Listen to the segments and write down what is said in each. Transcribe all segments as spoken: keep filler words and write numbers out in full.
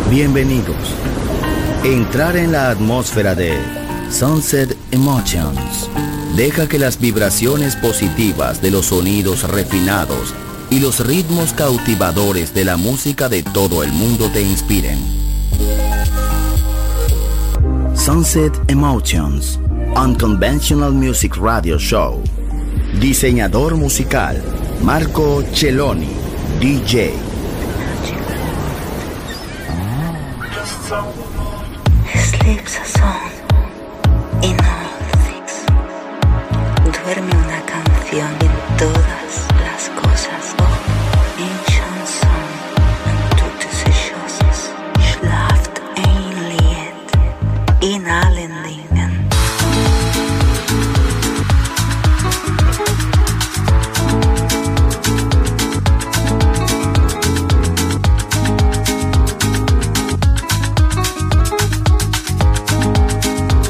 Bienvenidos. Entrar en la atmósfera de Sunset Emotions. Deja que las vibraciones positivas de los sonidos refinados y los ritmos cautivadores de la música de todo el mundo te inspiren. Sunset Emotions, Unconventional Music Radio Show. Diseñador musical, Marco Celloni, D J. Sleeps a song in all things. Duerme una canción en todas las cosas. Oh, ancient song, and toutes ces choses. Schlaft ein Lied in allen Dingen.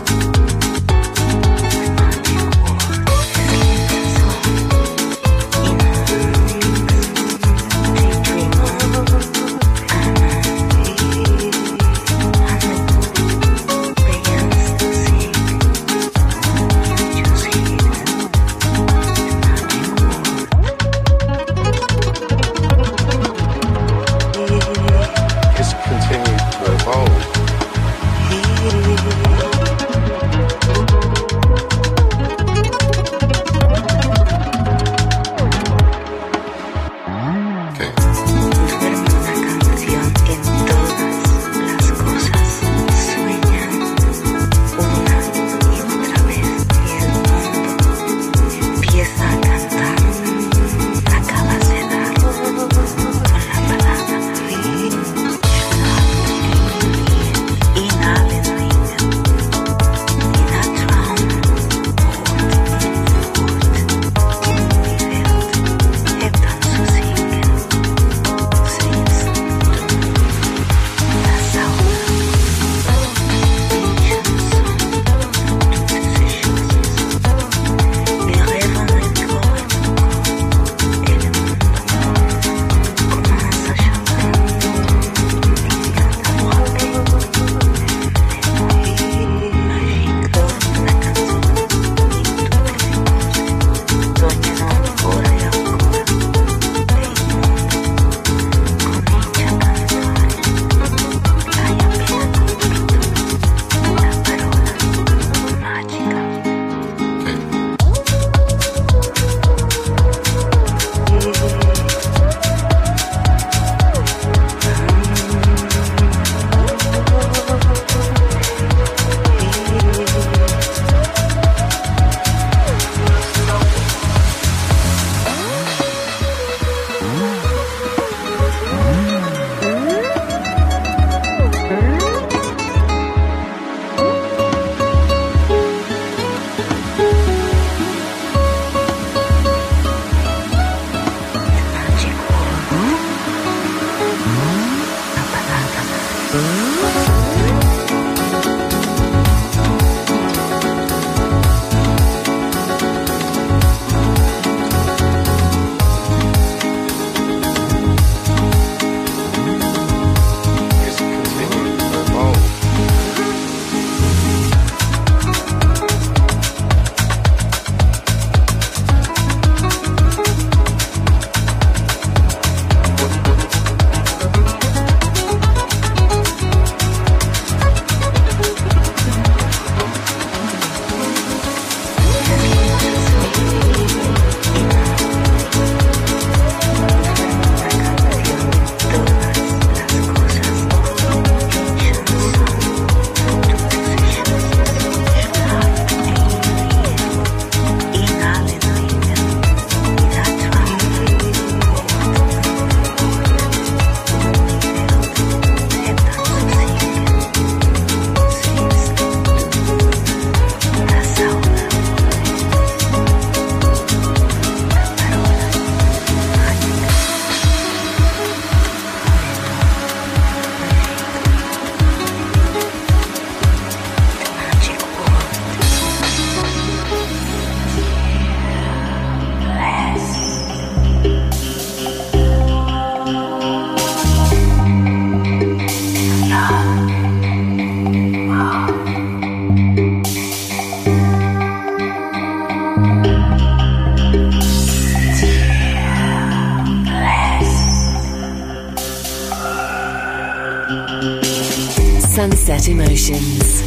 In Sunset Emotions.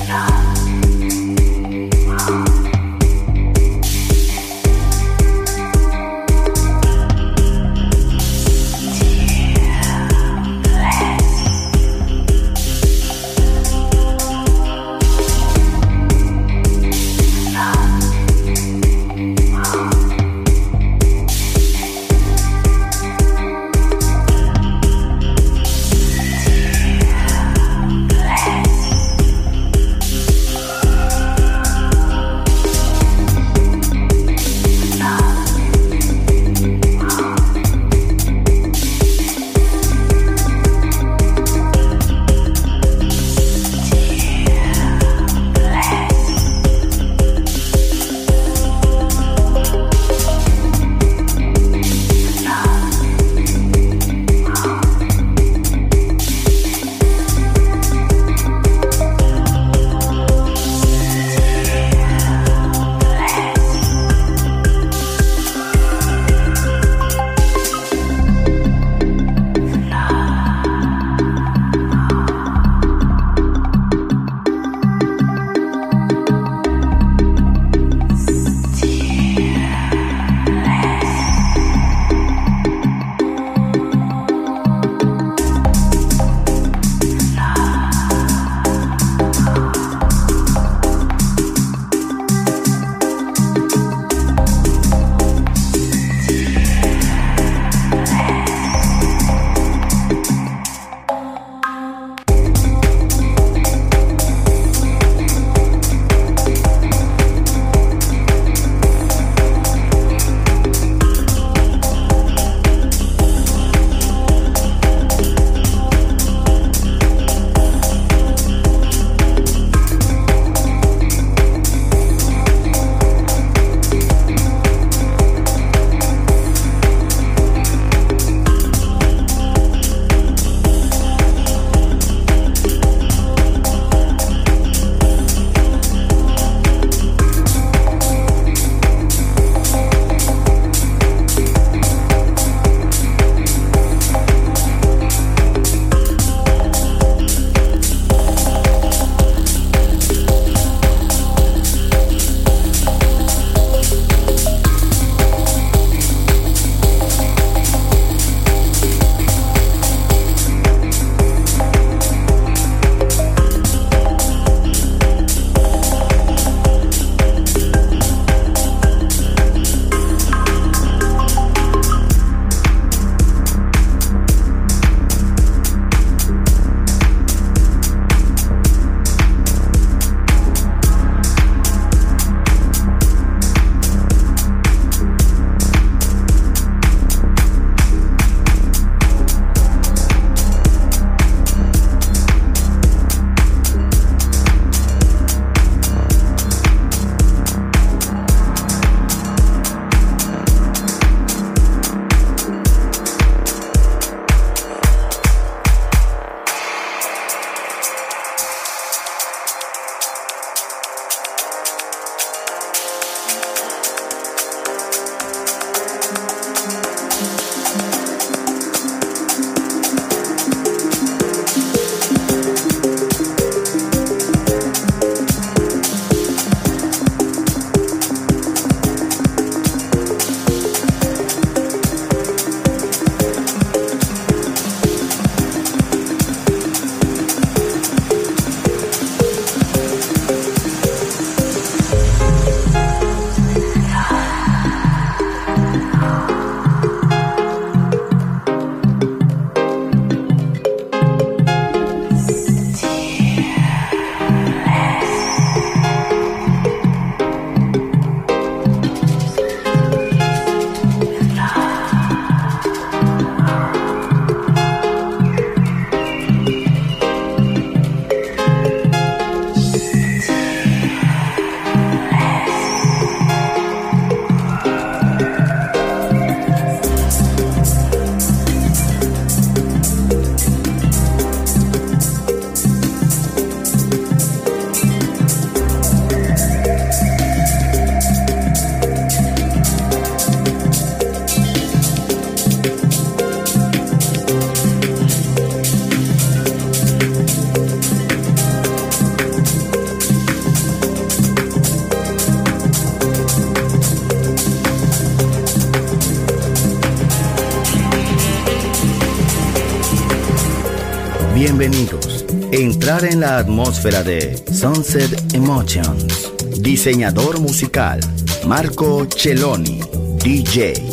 Bienvenidos. Entrar en la atmósfera de Sunset Emotions. Diseñador musical, Marco Celloni, D J.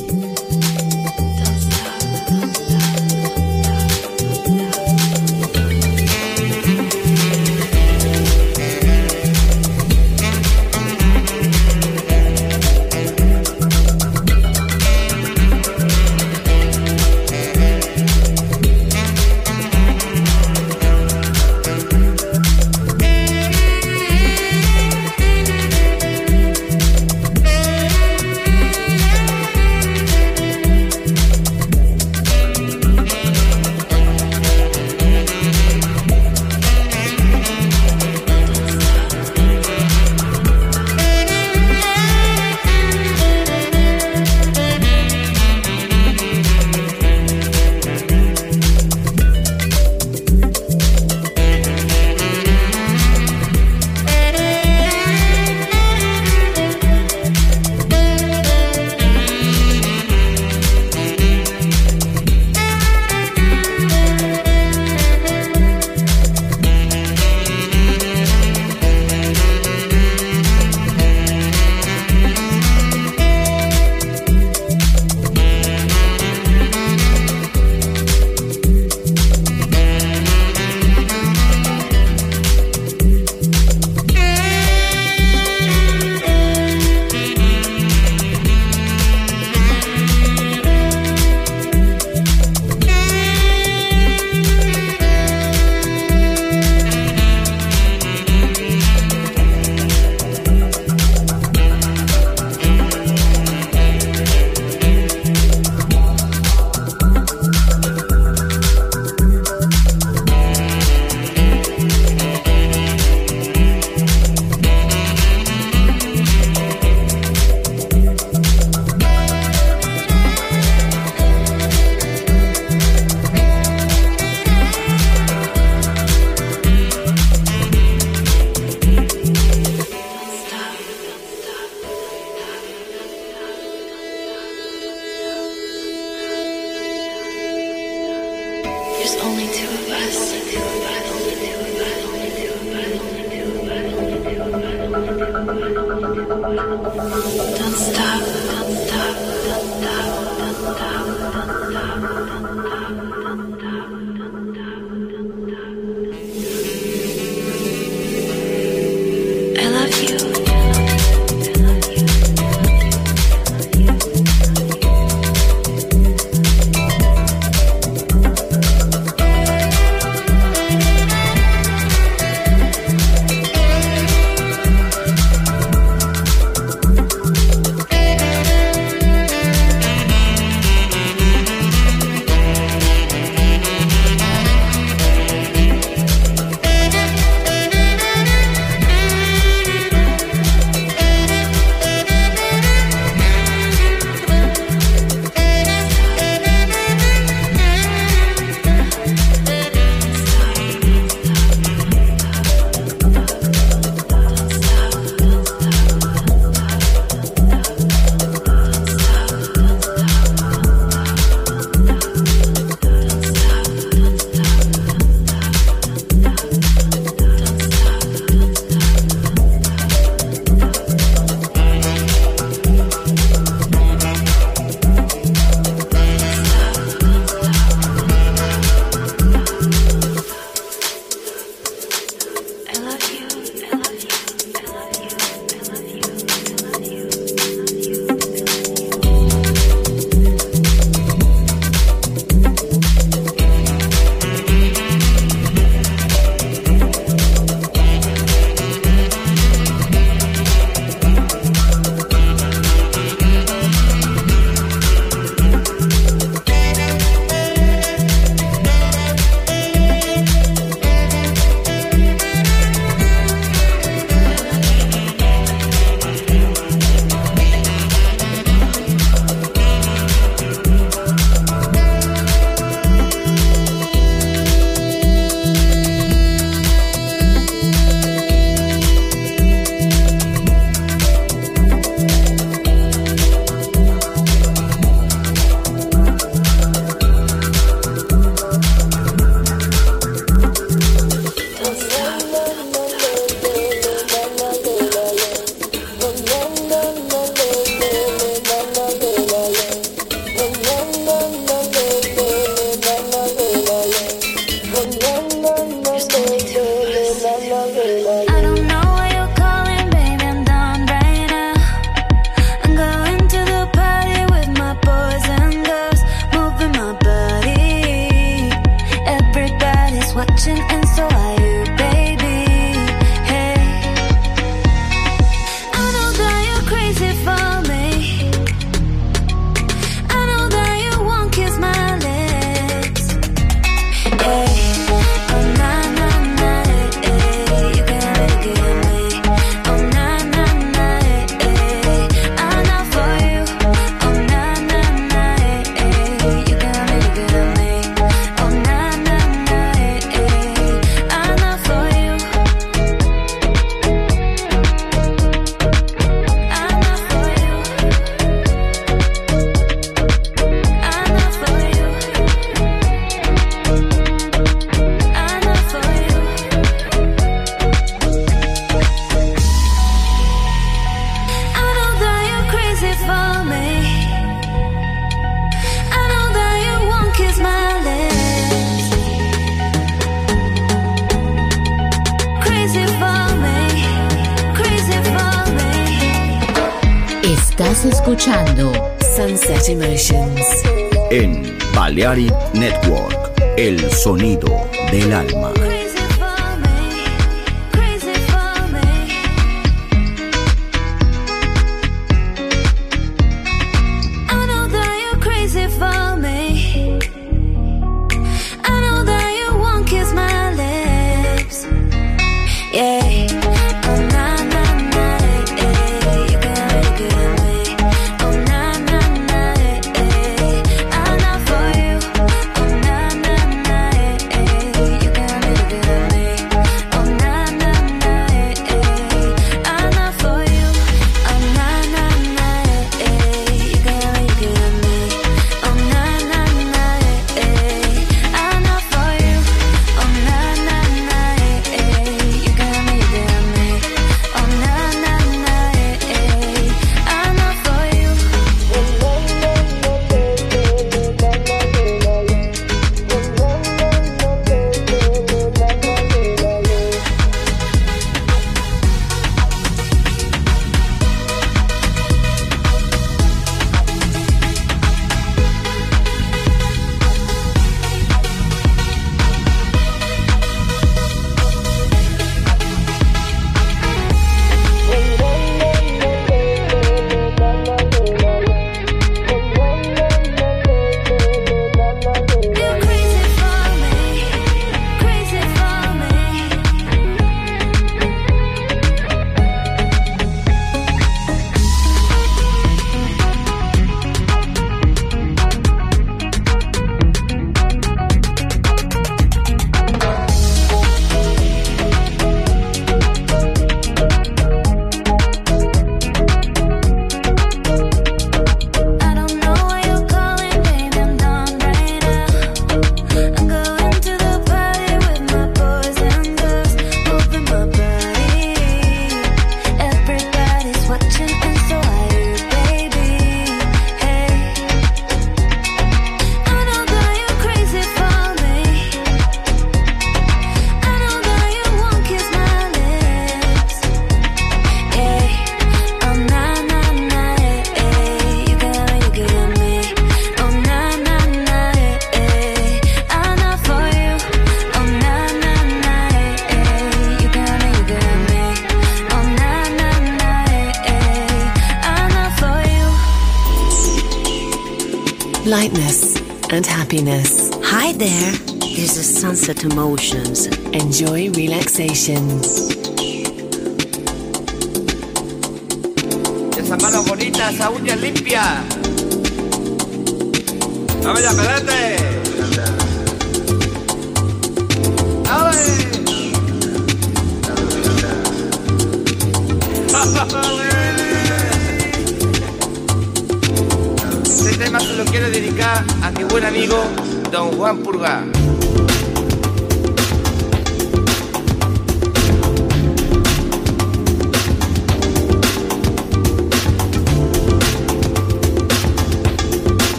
watching and so are you, baby. Hey, I know that you're crazy for me. I know that you won't kiss my lips. Hey, oh na na na, eh, eh, you can have it with me. Oh na na na, eh, eh, I'm not for you. Oh na na na, eh, eh, you can have it with me. Oh na na na, eh, eh, I'm not for you. I'm not for you. I'm not for you. I'm not for you. I know that you're crazy for me. I know that you won't kiss my lips. Crazy for me. Crazy for me. Estás escuchando Sunset Emotions. En Balearic Network, el sonido del alma. Crazy for me. Crazy for me. I know that you're crazy for me. I know that you won't kiss my lips. Yeah. Oh na na na, eh, eh, you can have it with me. Oh na na na, eh, eh, I'm not for you. Oh na na na, eh, eh, you can have it with me. Oh na na na, eh, eh, I'm not for you. Oh na na na, eh, eh, you can have it with me. Oh na na na, eh, eh, I'm not for you. Oh na na na, eh, eh, you can have it with me. Oh na na na, eh, eh, I'm not for you. You're crazy for me, crazy for me. I don't know why you're calling, baby, I'm done right now. I'm going to the party with my boys and girls, moving my body. Everybody's watching and so are you, baby. Hey, I know that you're crazy for me. I know that you won't kiss my lips. Yeah, oh na na na, eh, eh, you can have it with me. Oh na na na, eh, eh, I'm not for you. Oh na na na, eh, eh, you can have it with me. Oh na na na, eh, eh, I'm not for you. Lightness and happiness. Hi there, this is Sunset Emotions. Enjoy relaxation. Esas manos bonitas, esa uña limpia. ¡Vamos ya, pedete! ¡Ale! Este tema se lo quiero dedicar a mi buen amigo Don Juan Purga.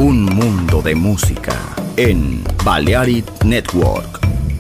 Un mundo de música en Balearic Network.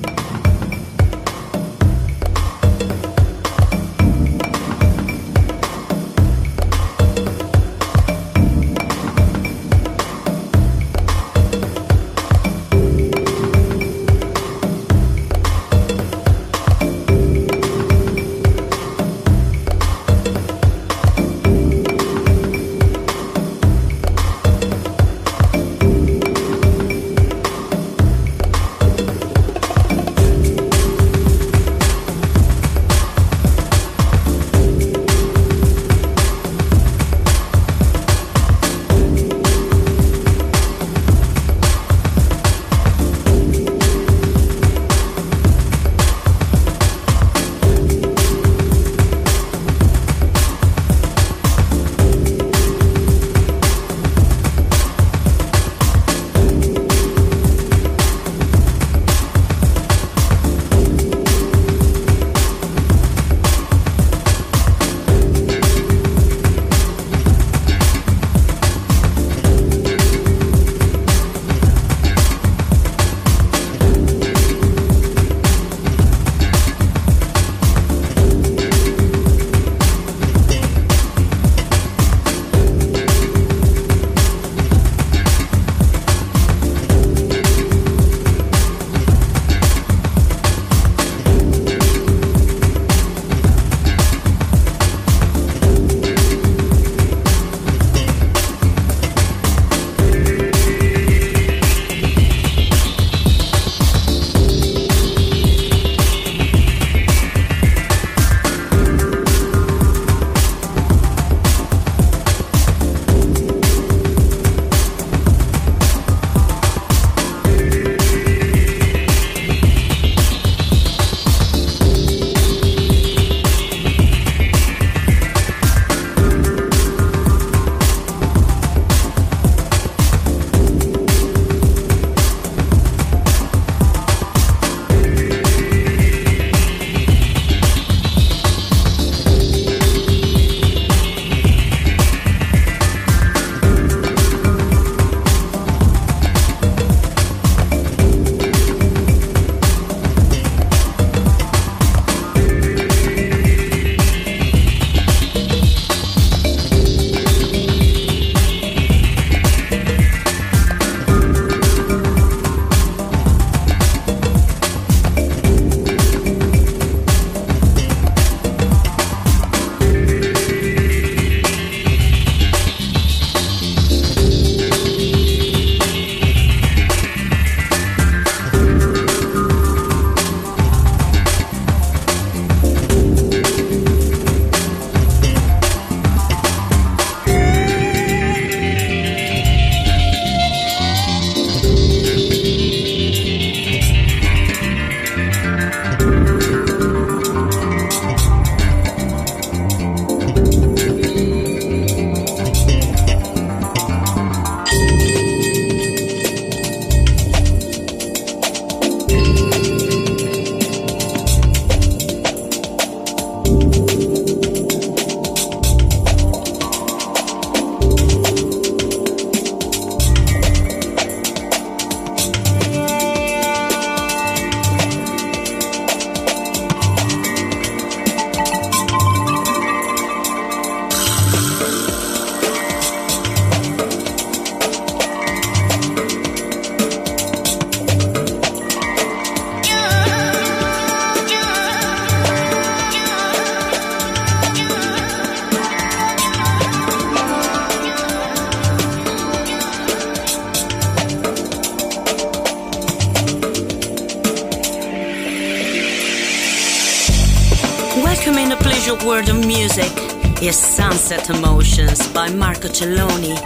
Welcome in a pleasure world of music is Sunset Emotions by Marco Celloni.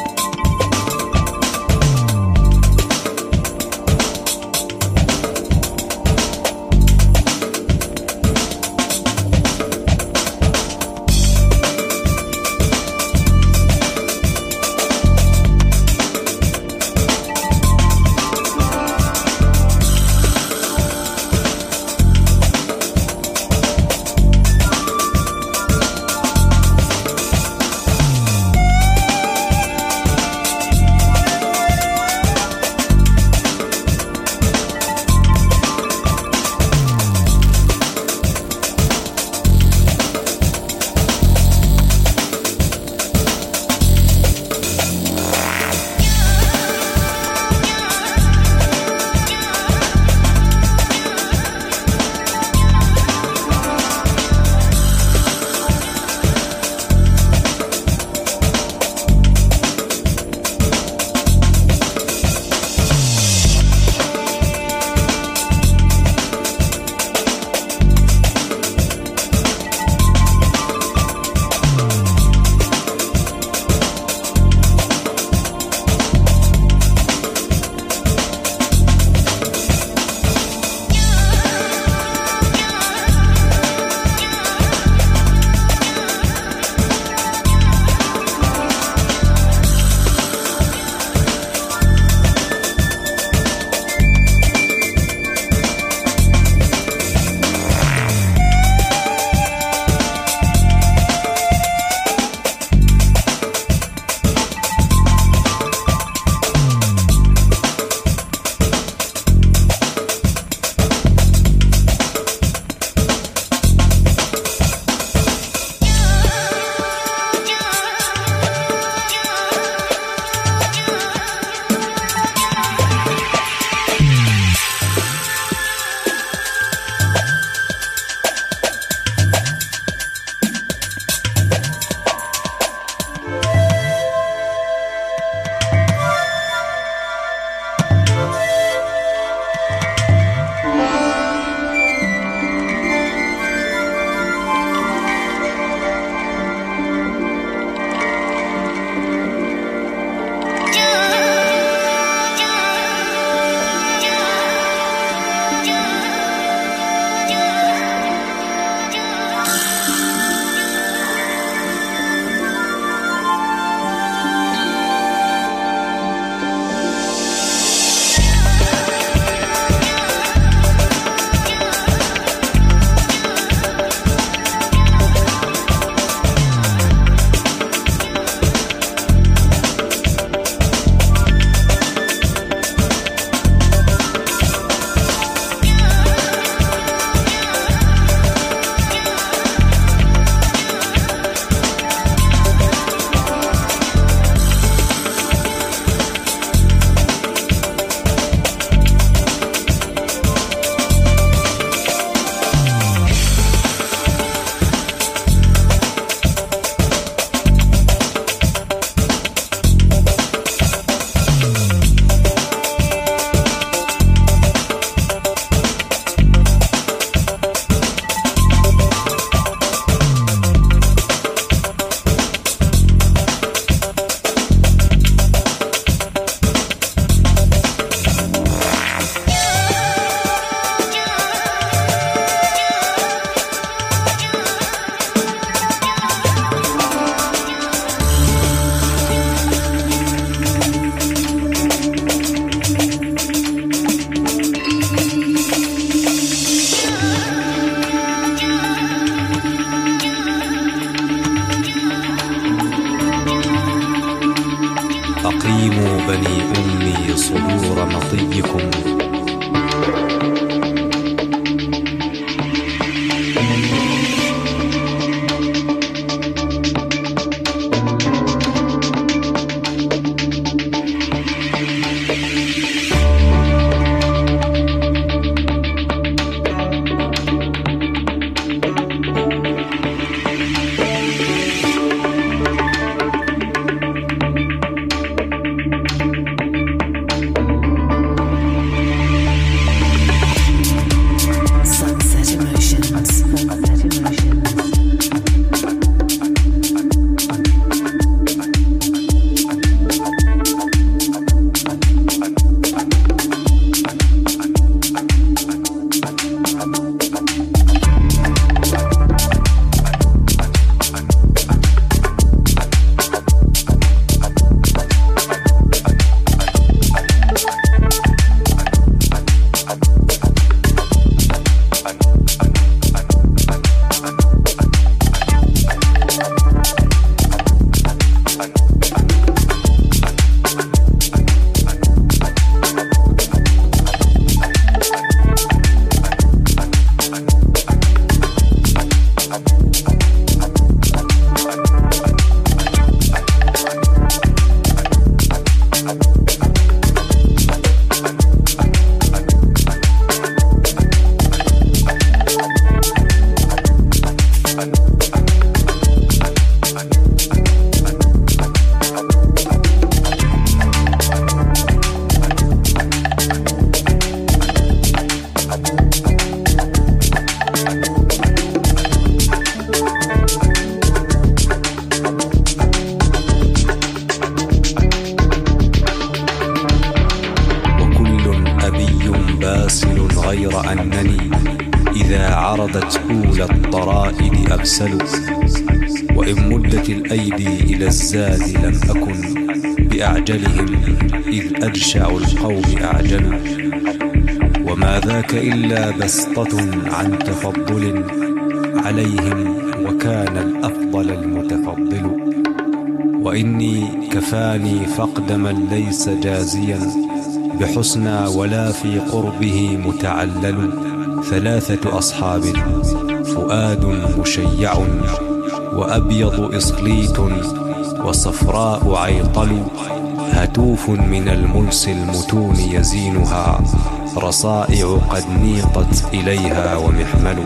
أنتم بني أمي صدور مطيكم. غير أنني إذا عرضت أولى الطرائد أبسل، وإن مدت الأيدي إلى الزاد لم أكن بأعجلهم إذ أجشع القوم أعجل، وما ذاك إلا بسطة عن تفضل عليهم وكان الأفضل المتفضل، وإني كفاني فقد من ليس جازيا بحسنى ولا في قربه متعلل، ثلاثة أصحاب فؤاد مشيع وأبيض إصليت وصفراء عيطل، هتوف من الملس المتون يزينها رصائع قد نيقت إليها ومحمل.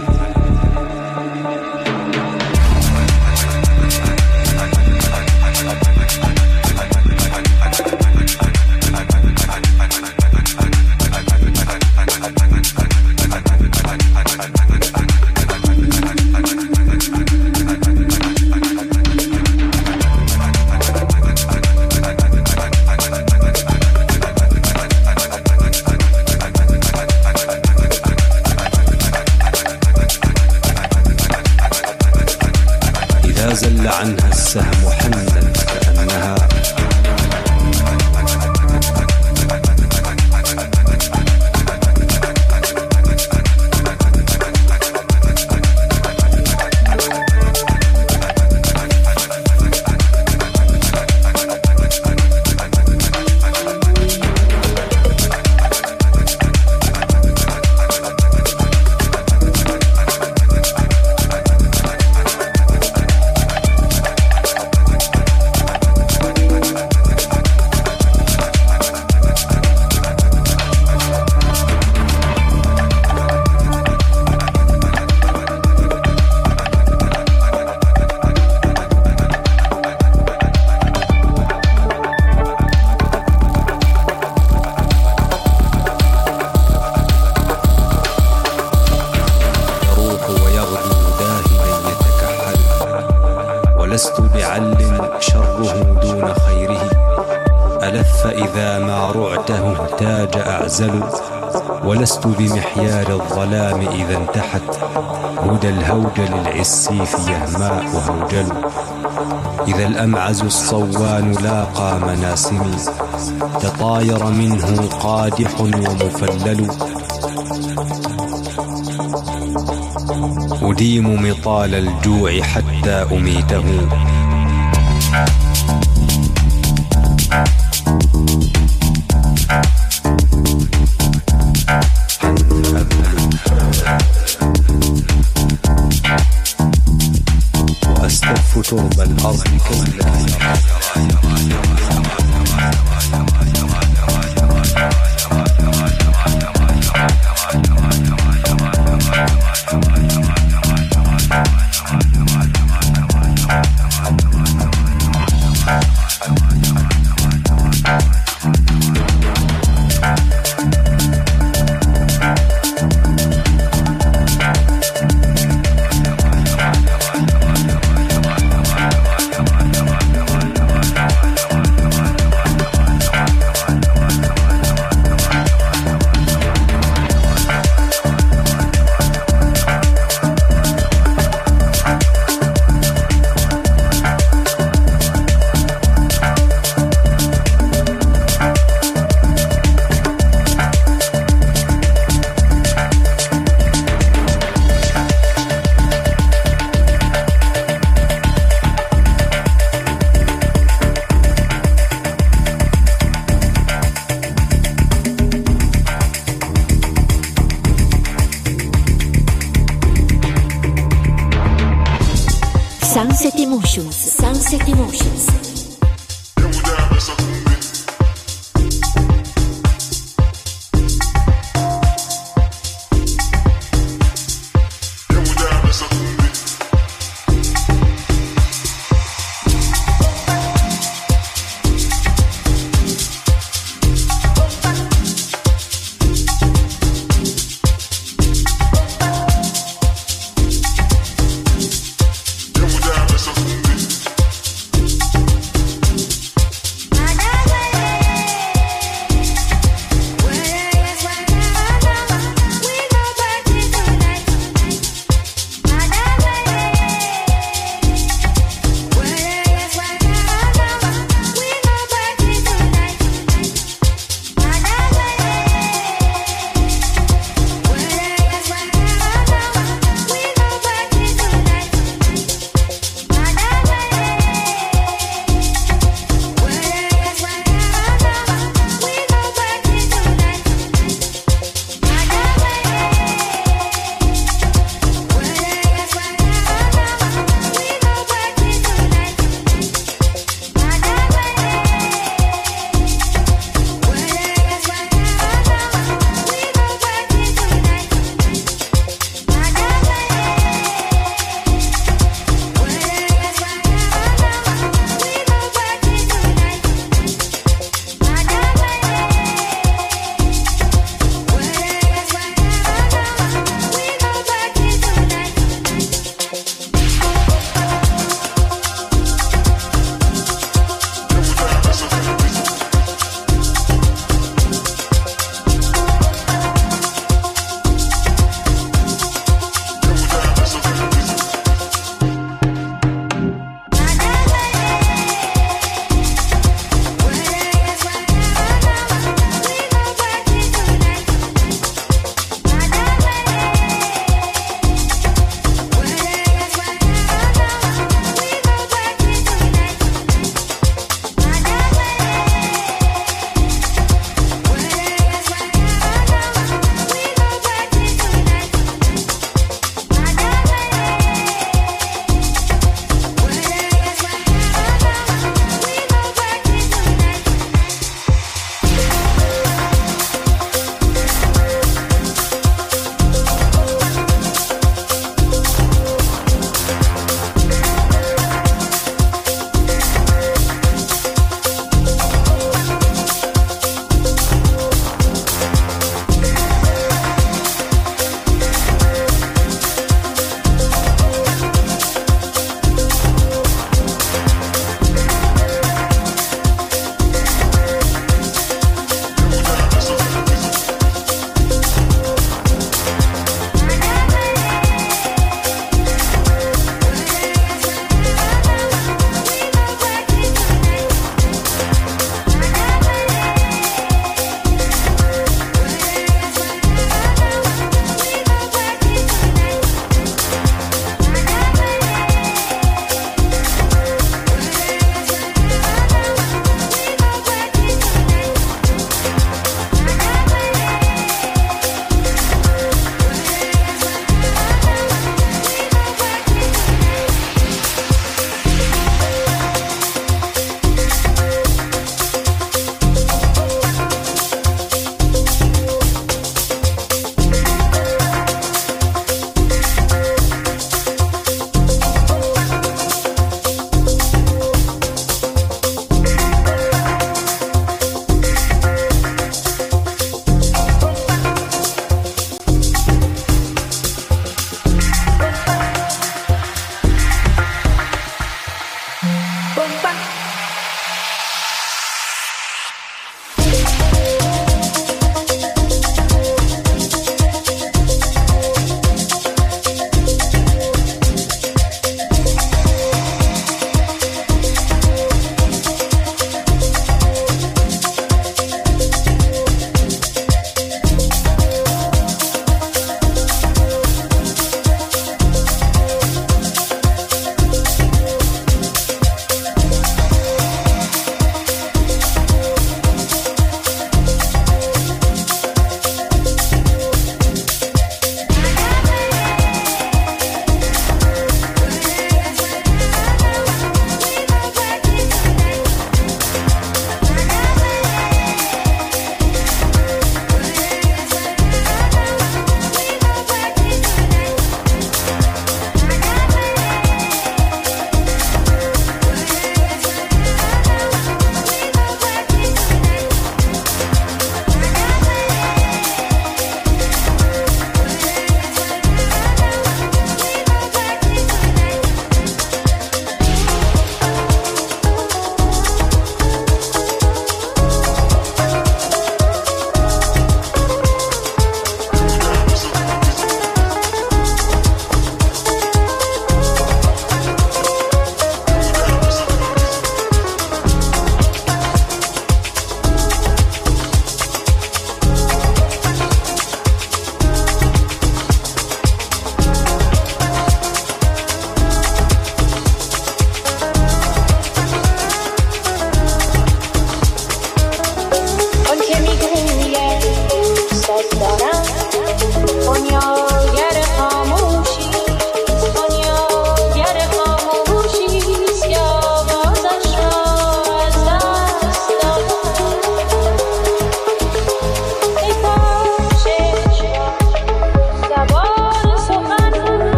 زل عنها السهم حنت كأنها لست بعل شره دون خيره، ألف إذا ما رعته اهتاج أعزل، ولست بمحيال الظلام إذا انتحت هدى الهوجل العسيف يهماء هوجل، إذا الأمعز الصوان لاقى مناسمي تطاير منه قادح ومفلل، أديم مطال الجوع حتى أميته. Sunset Emotions, Sunset Emotions.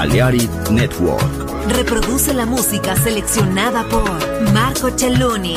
Balearic Network. Reproduce la música seleccionada por Marco Celloni.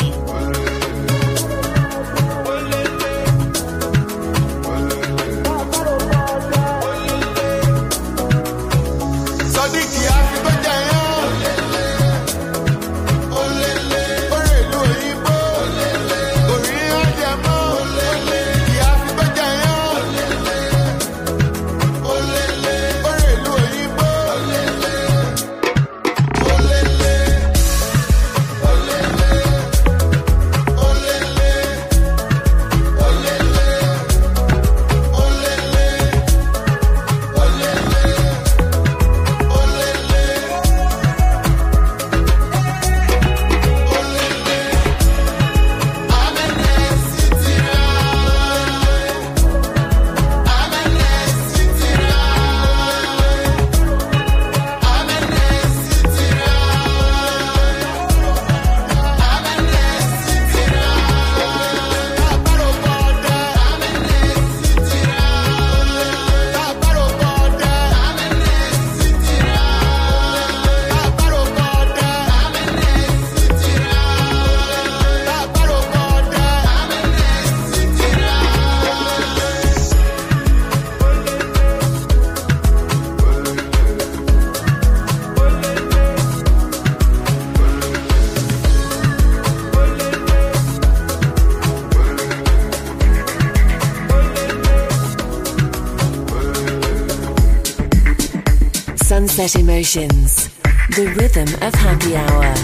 Sunset Emotions, the rhythm of happy hour.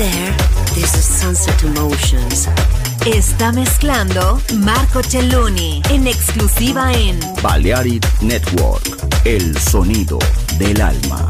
there, this is Sunset Emotions. Está mezclando Marco Celloni en exclusiva en Balearic Network, el sonido del alma.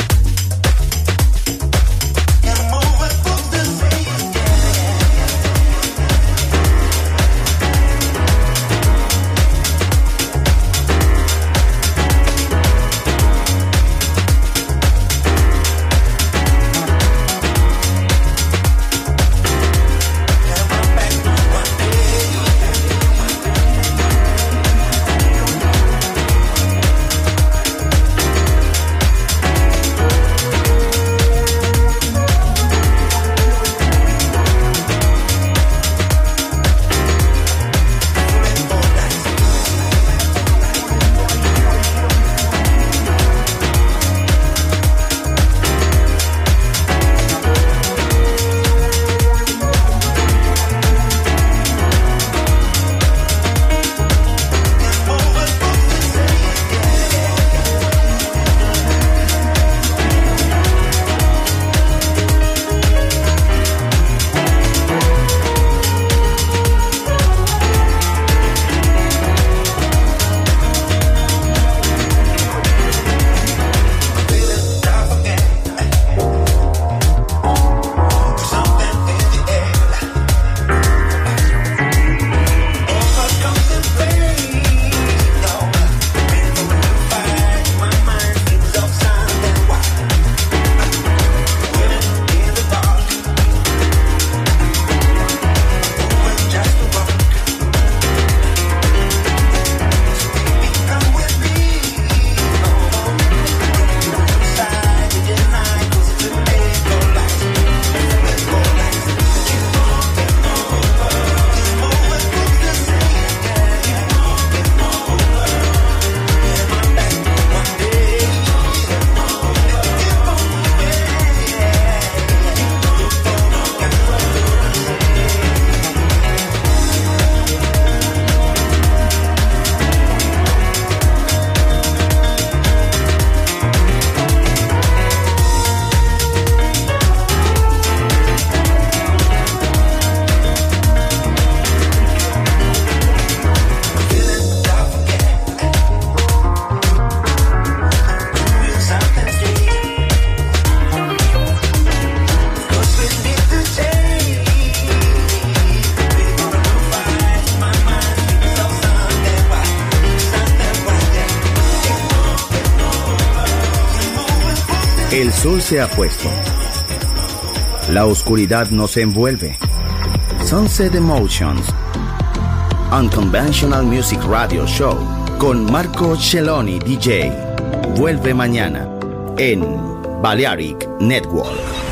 El sol se ha puesto. La oscuridad nos envuelve. Sunset Emotions, Unconventional Music Radio Show con Marco Celloni D J. Vuelve mañana en Balearic Network.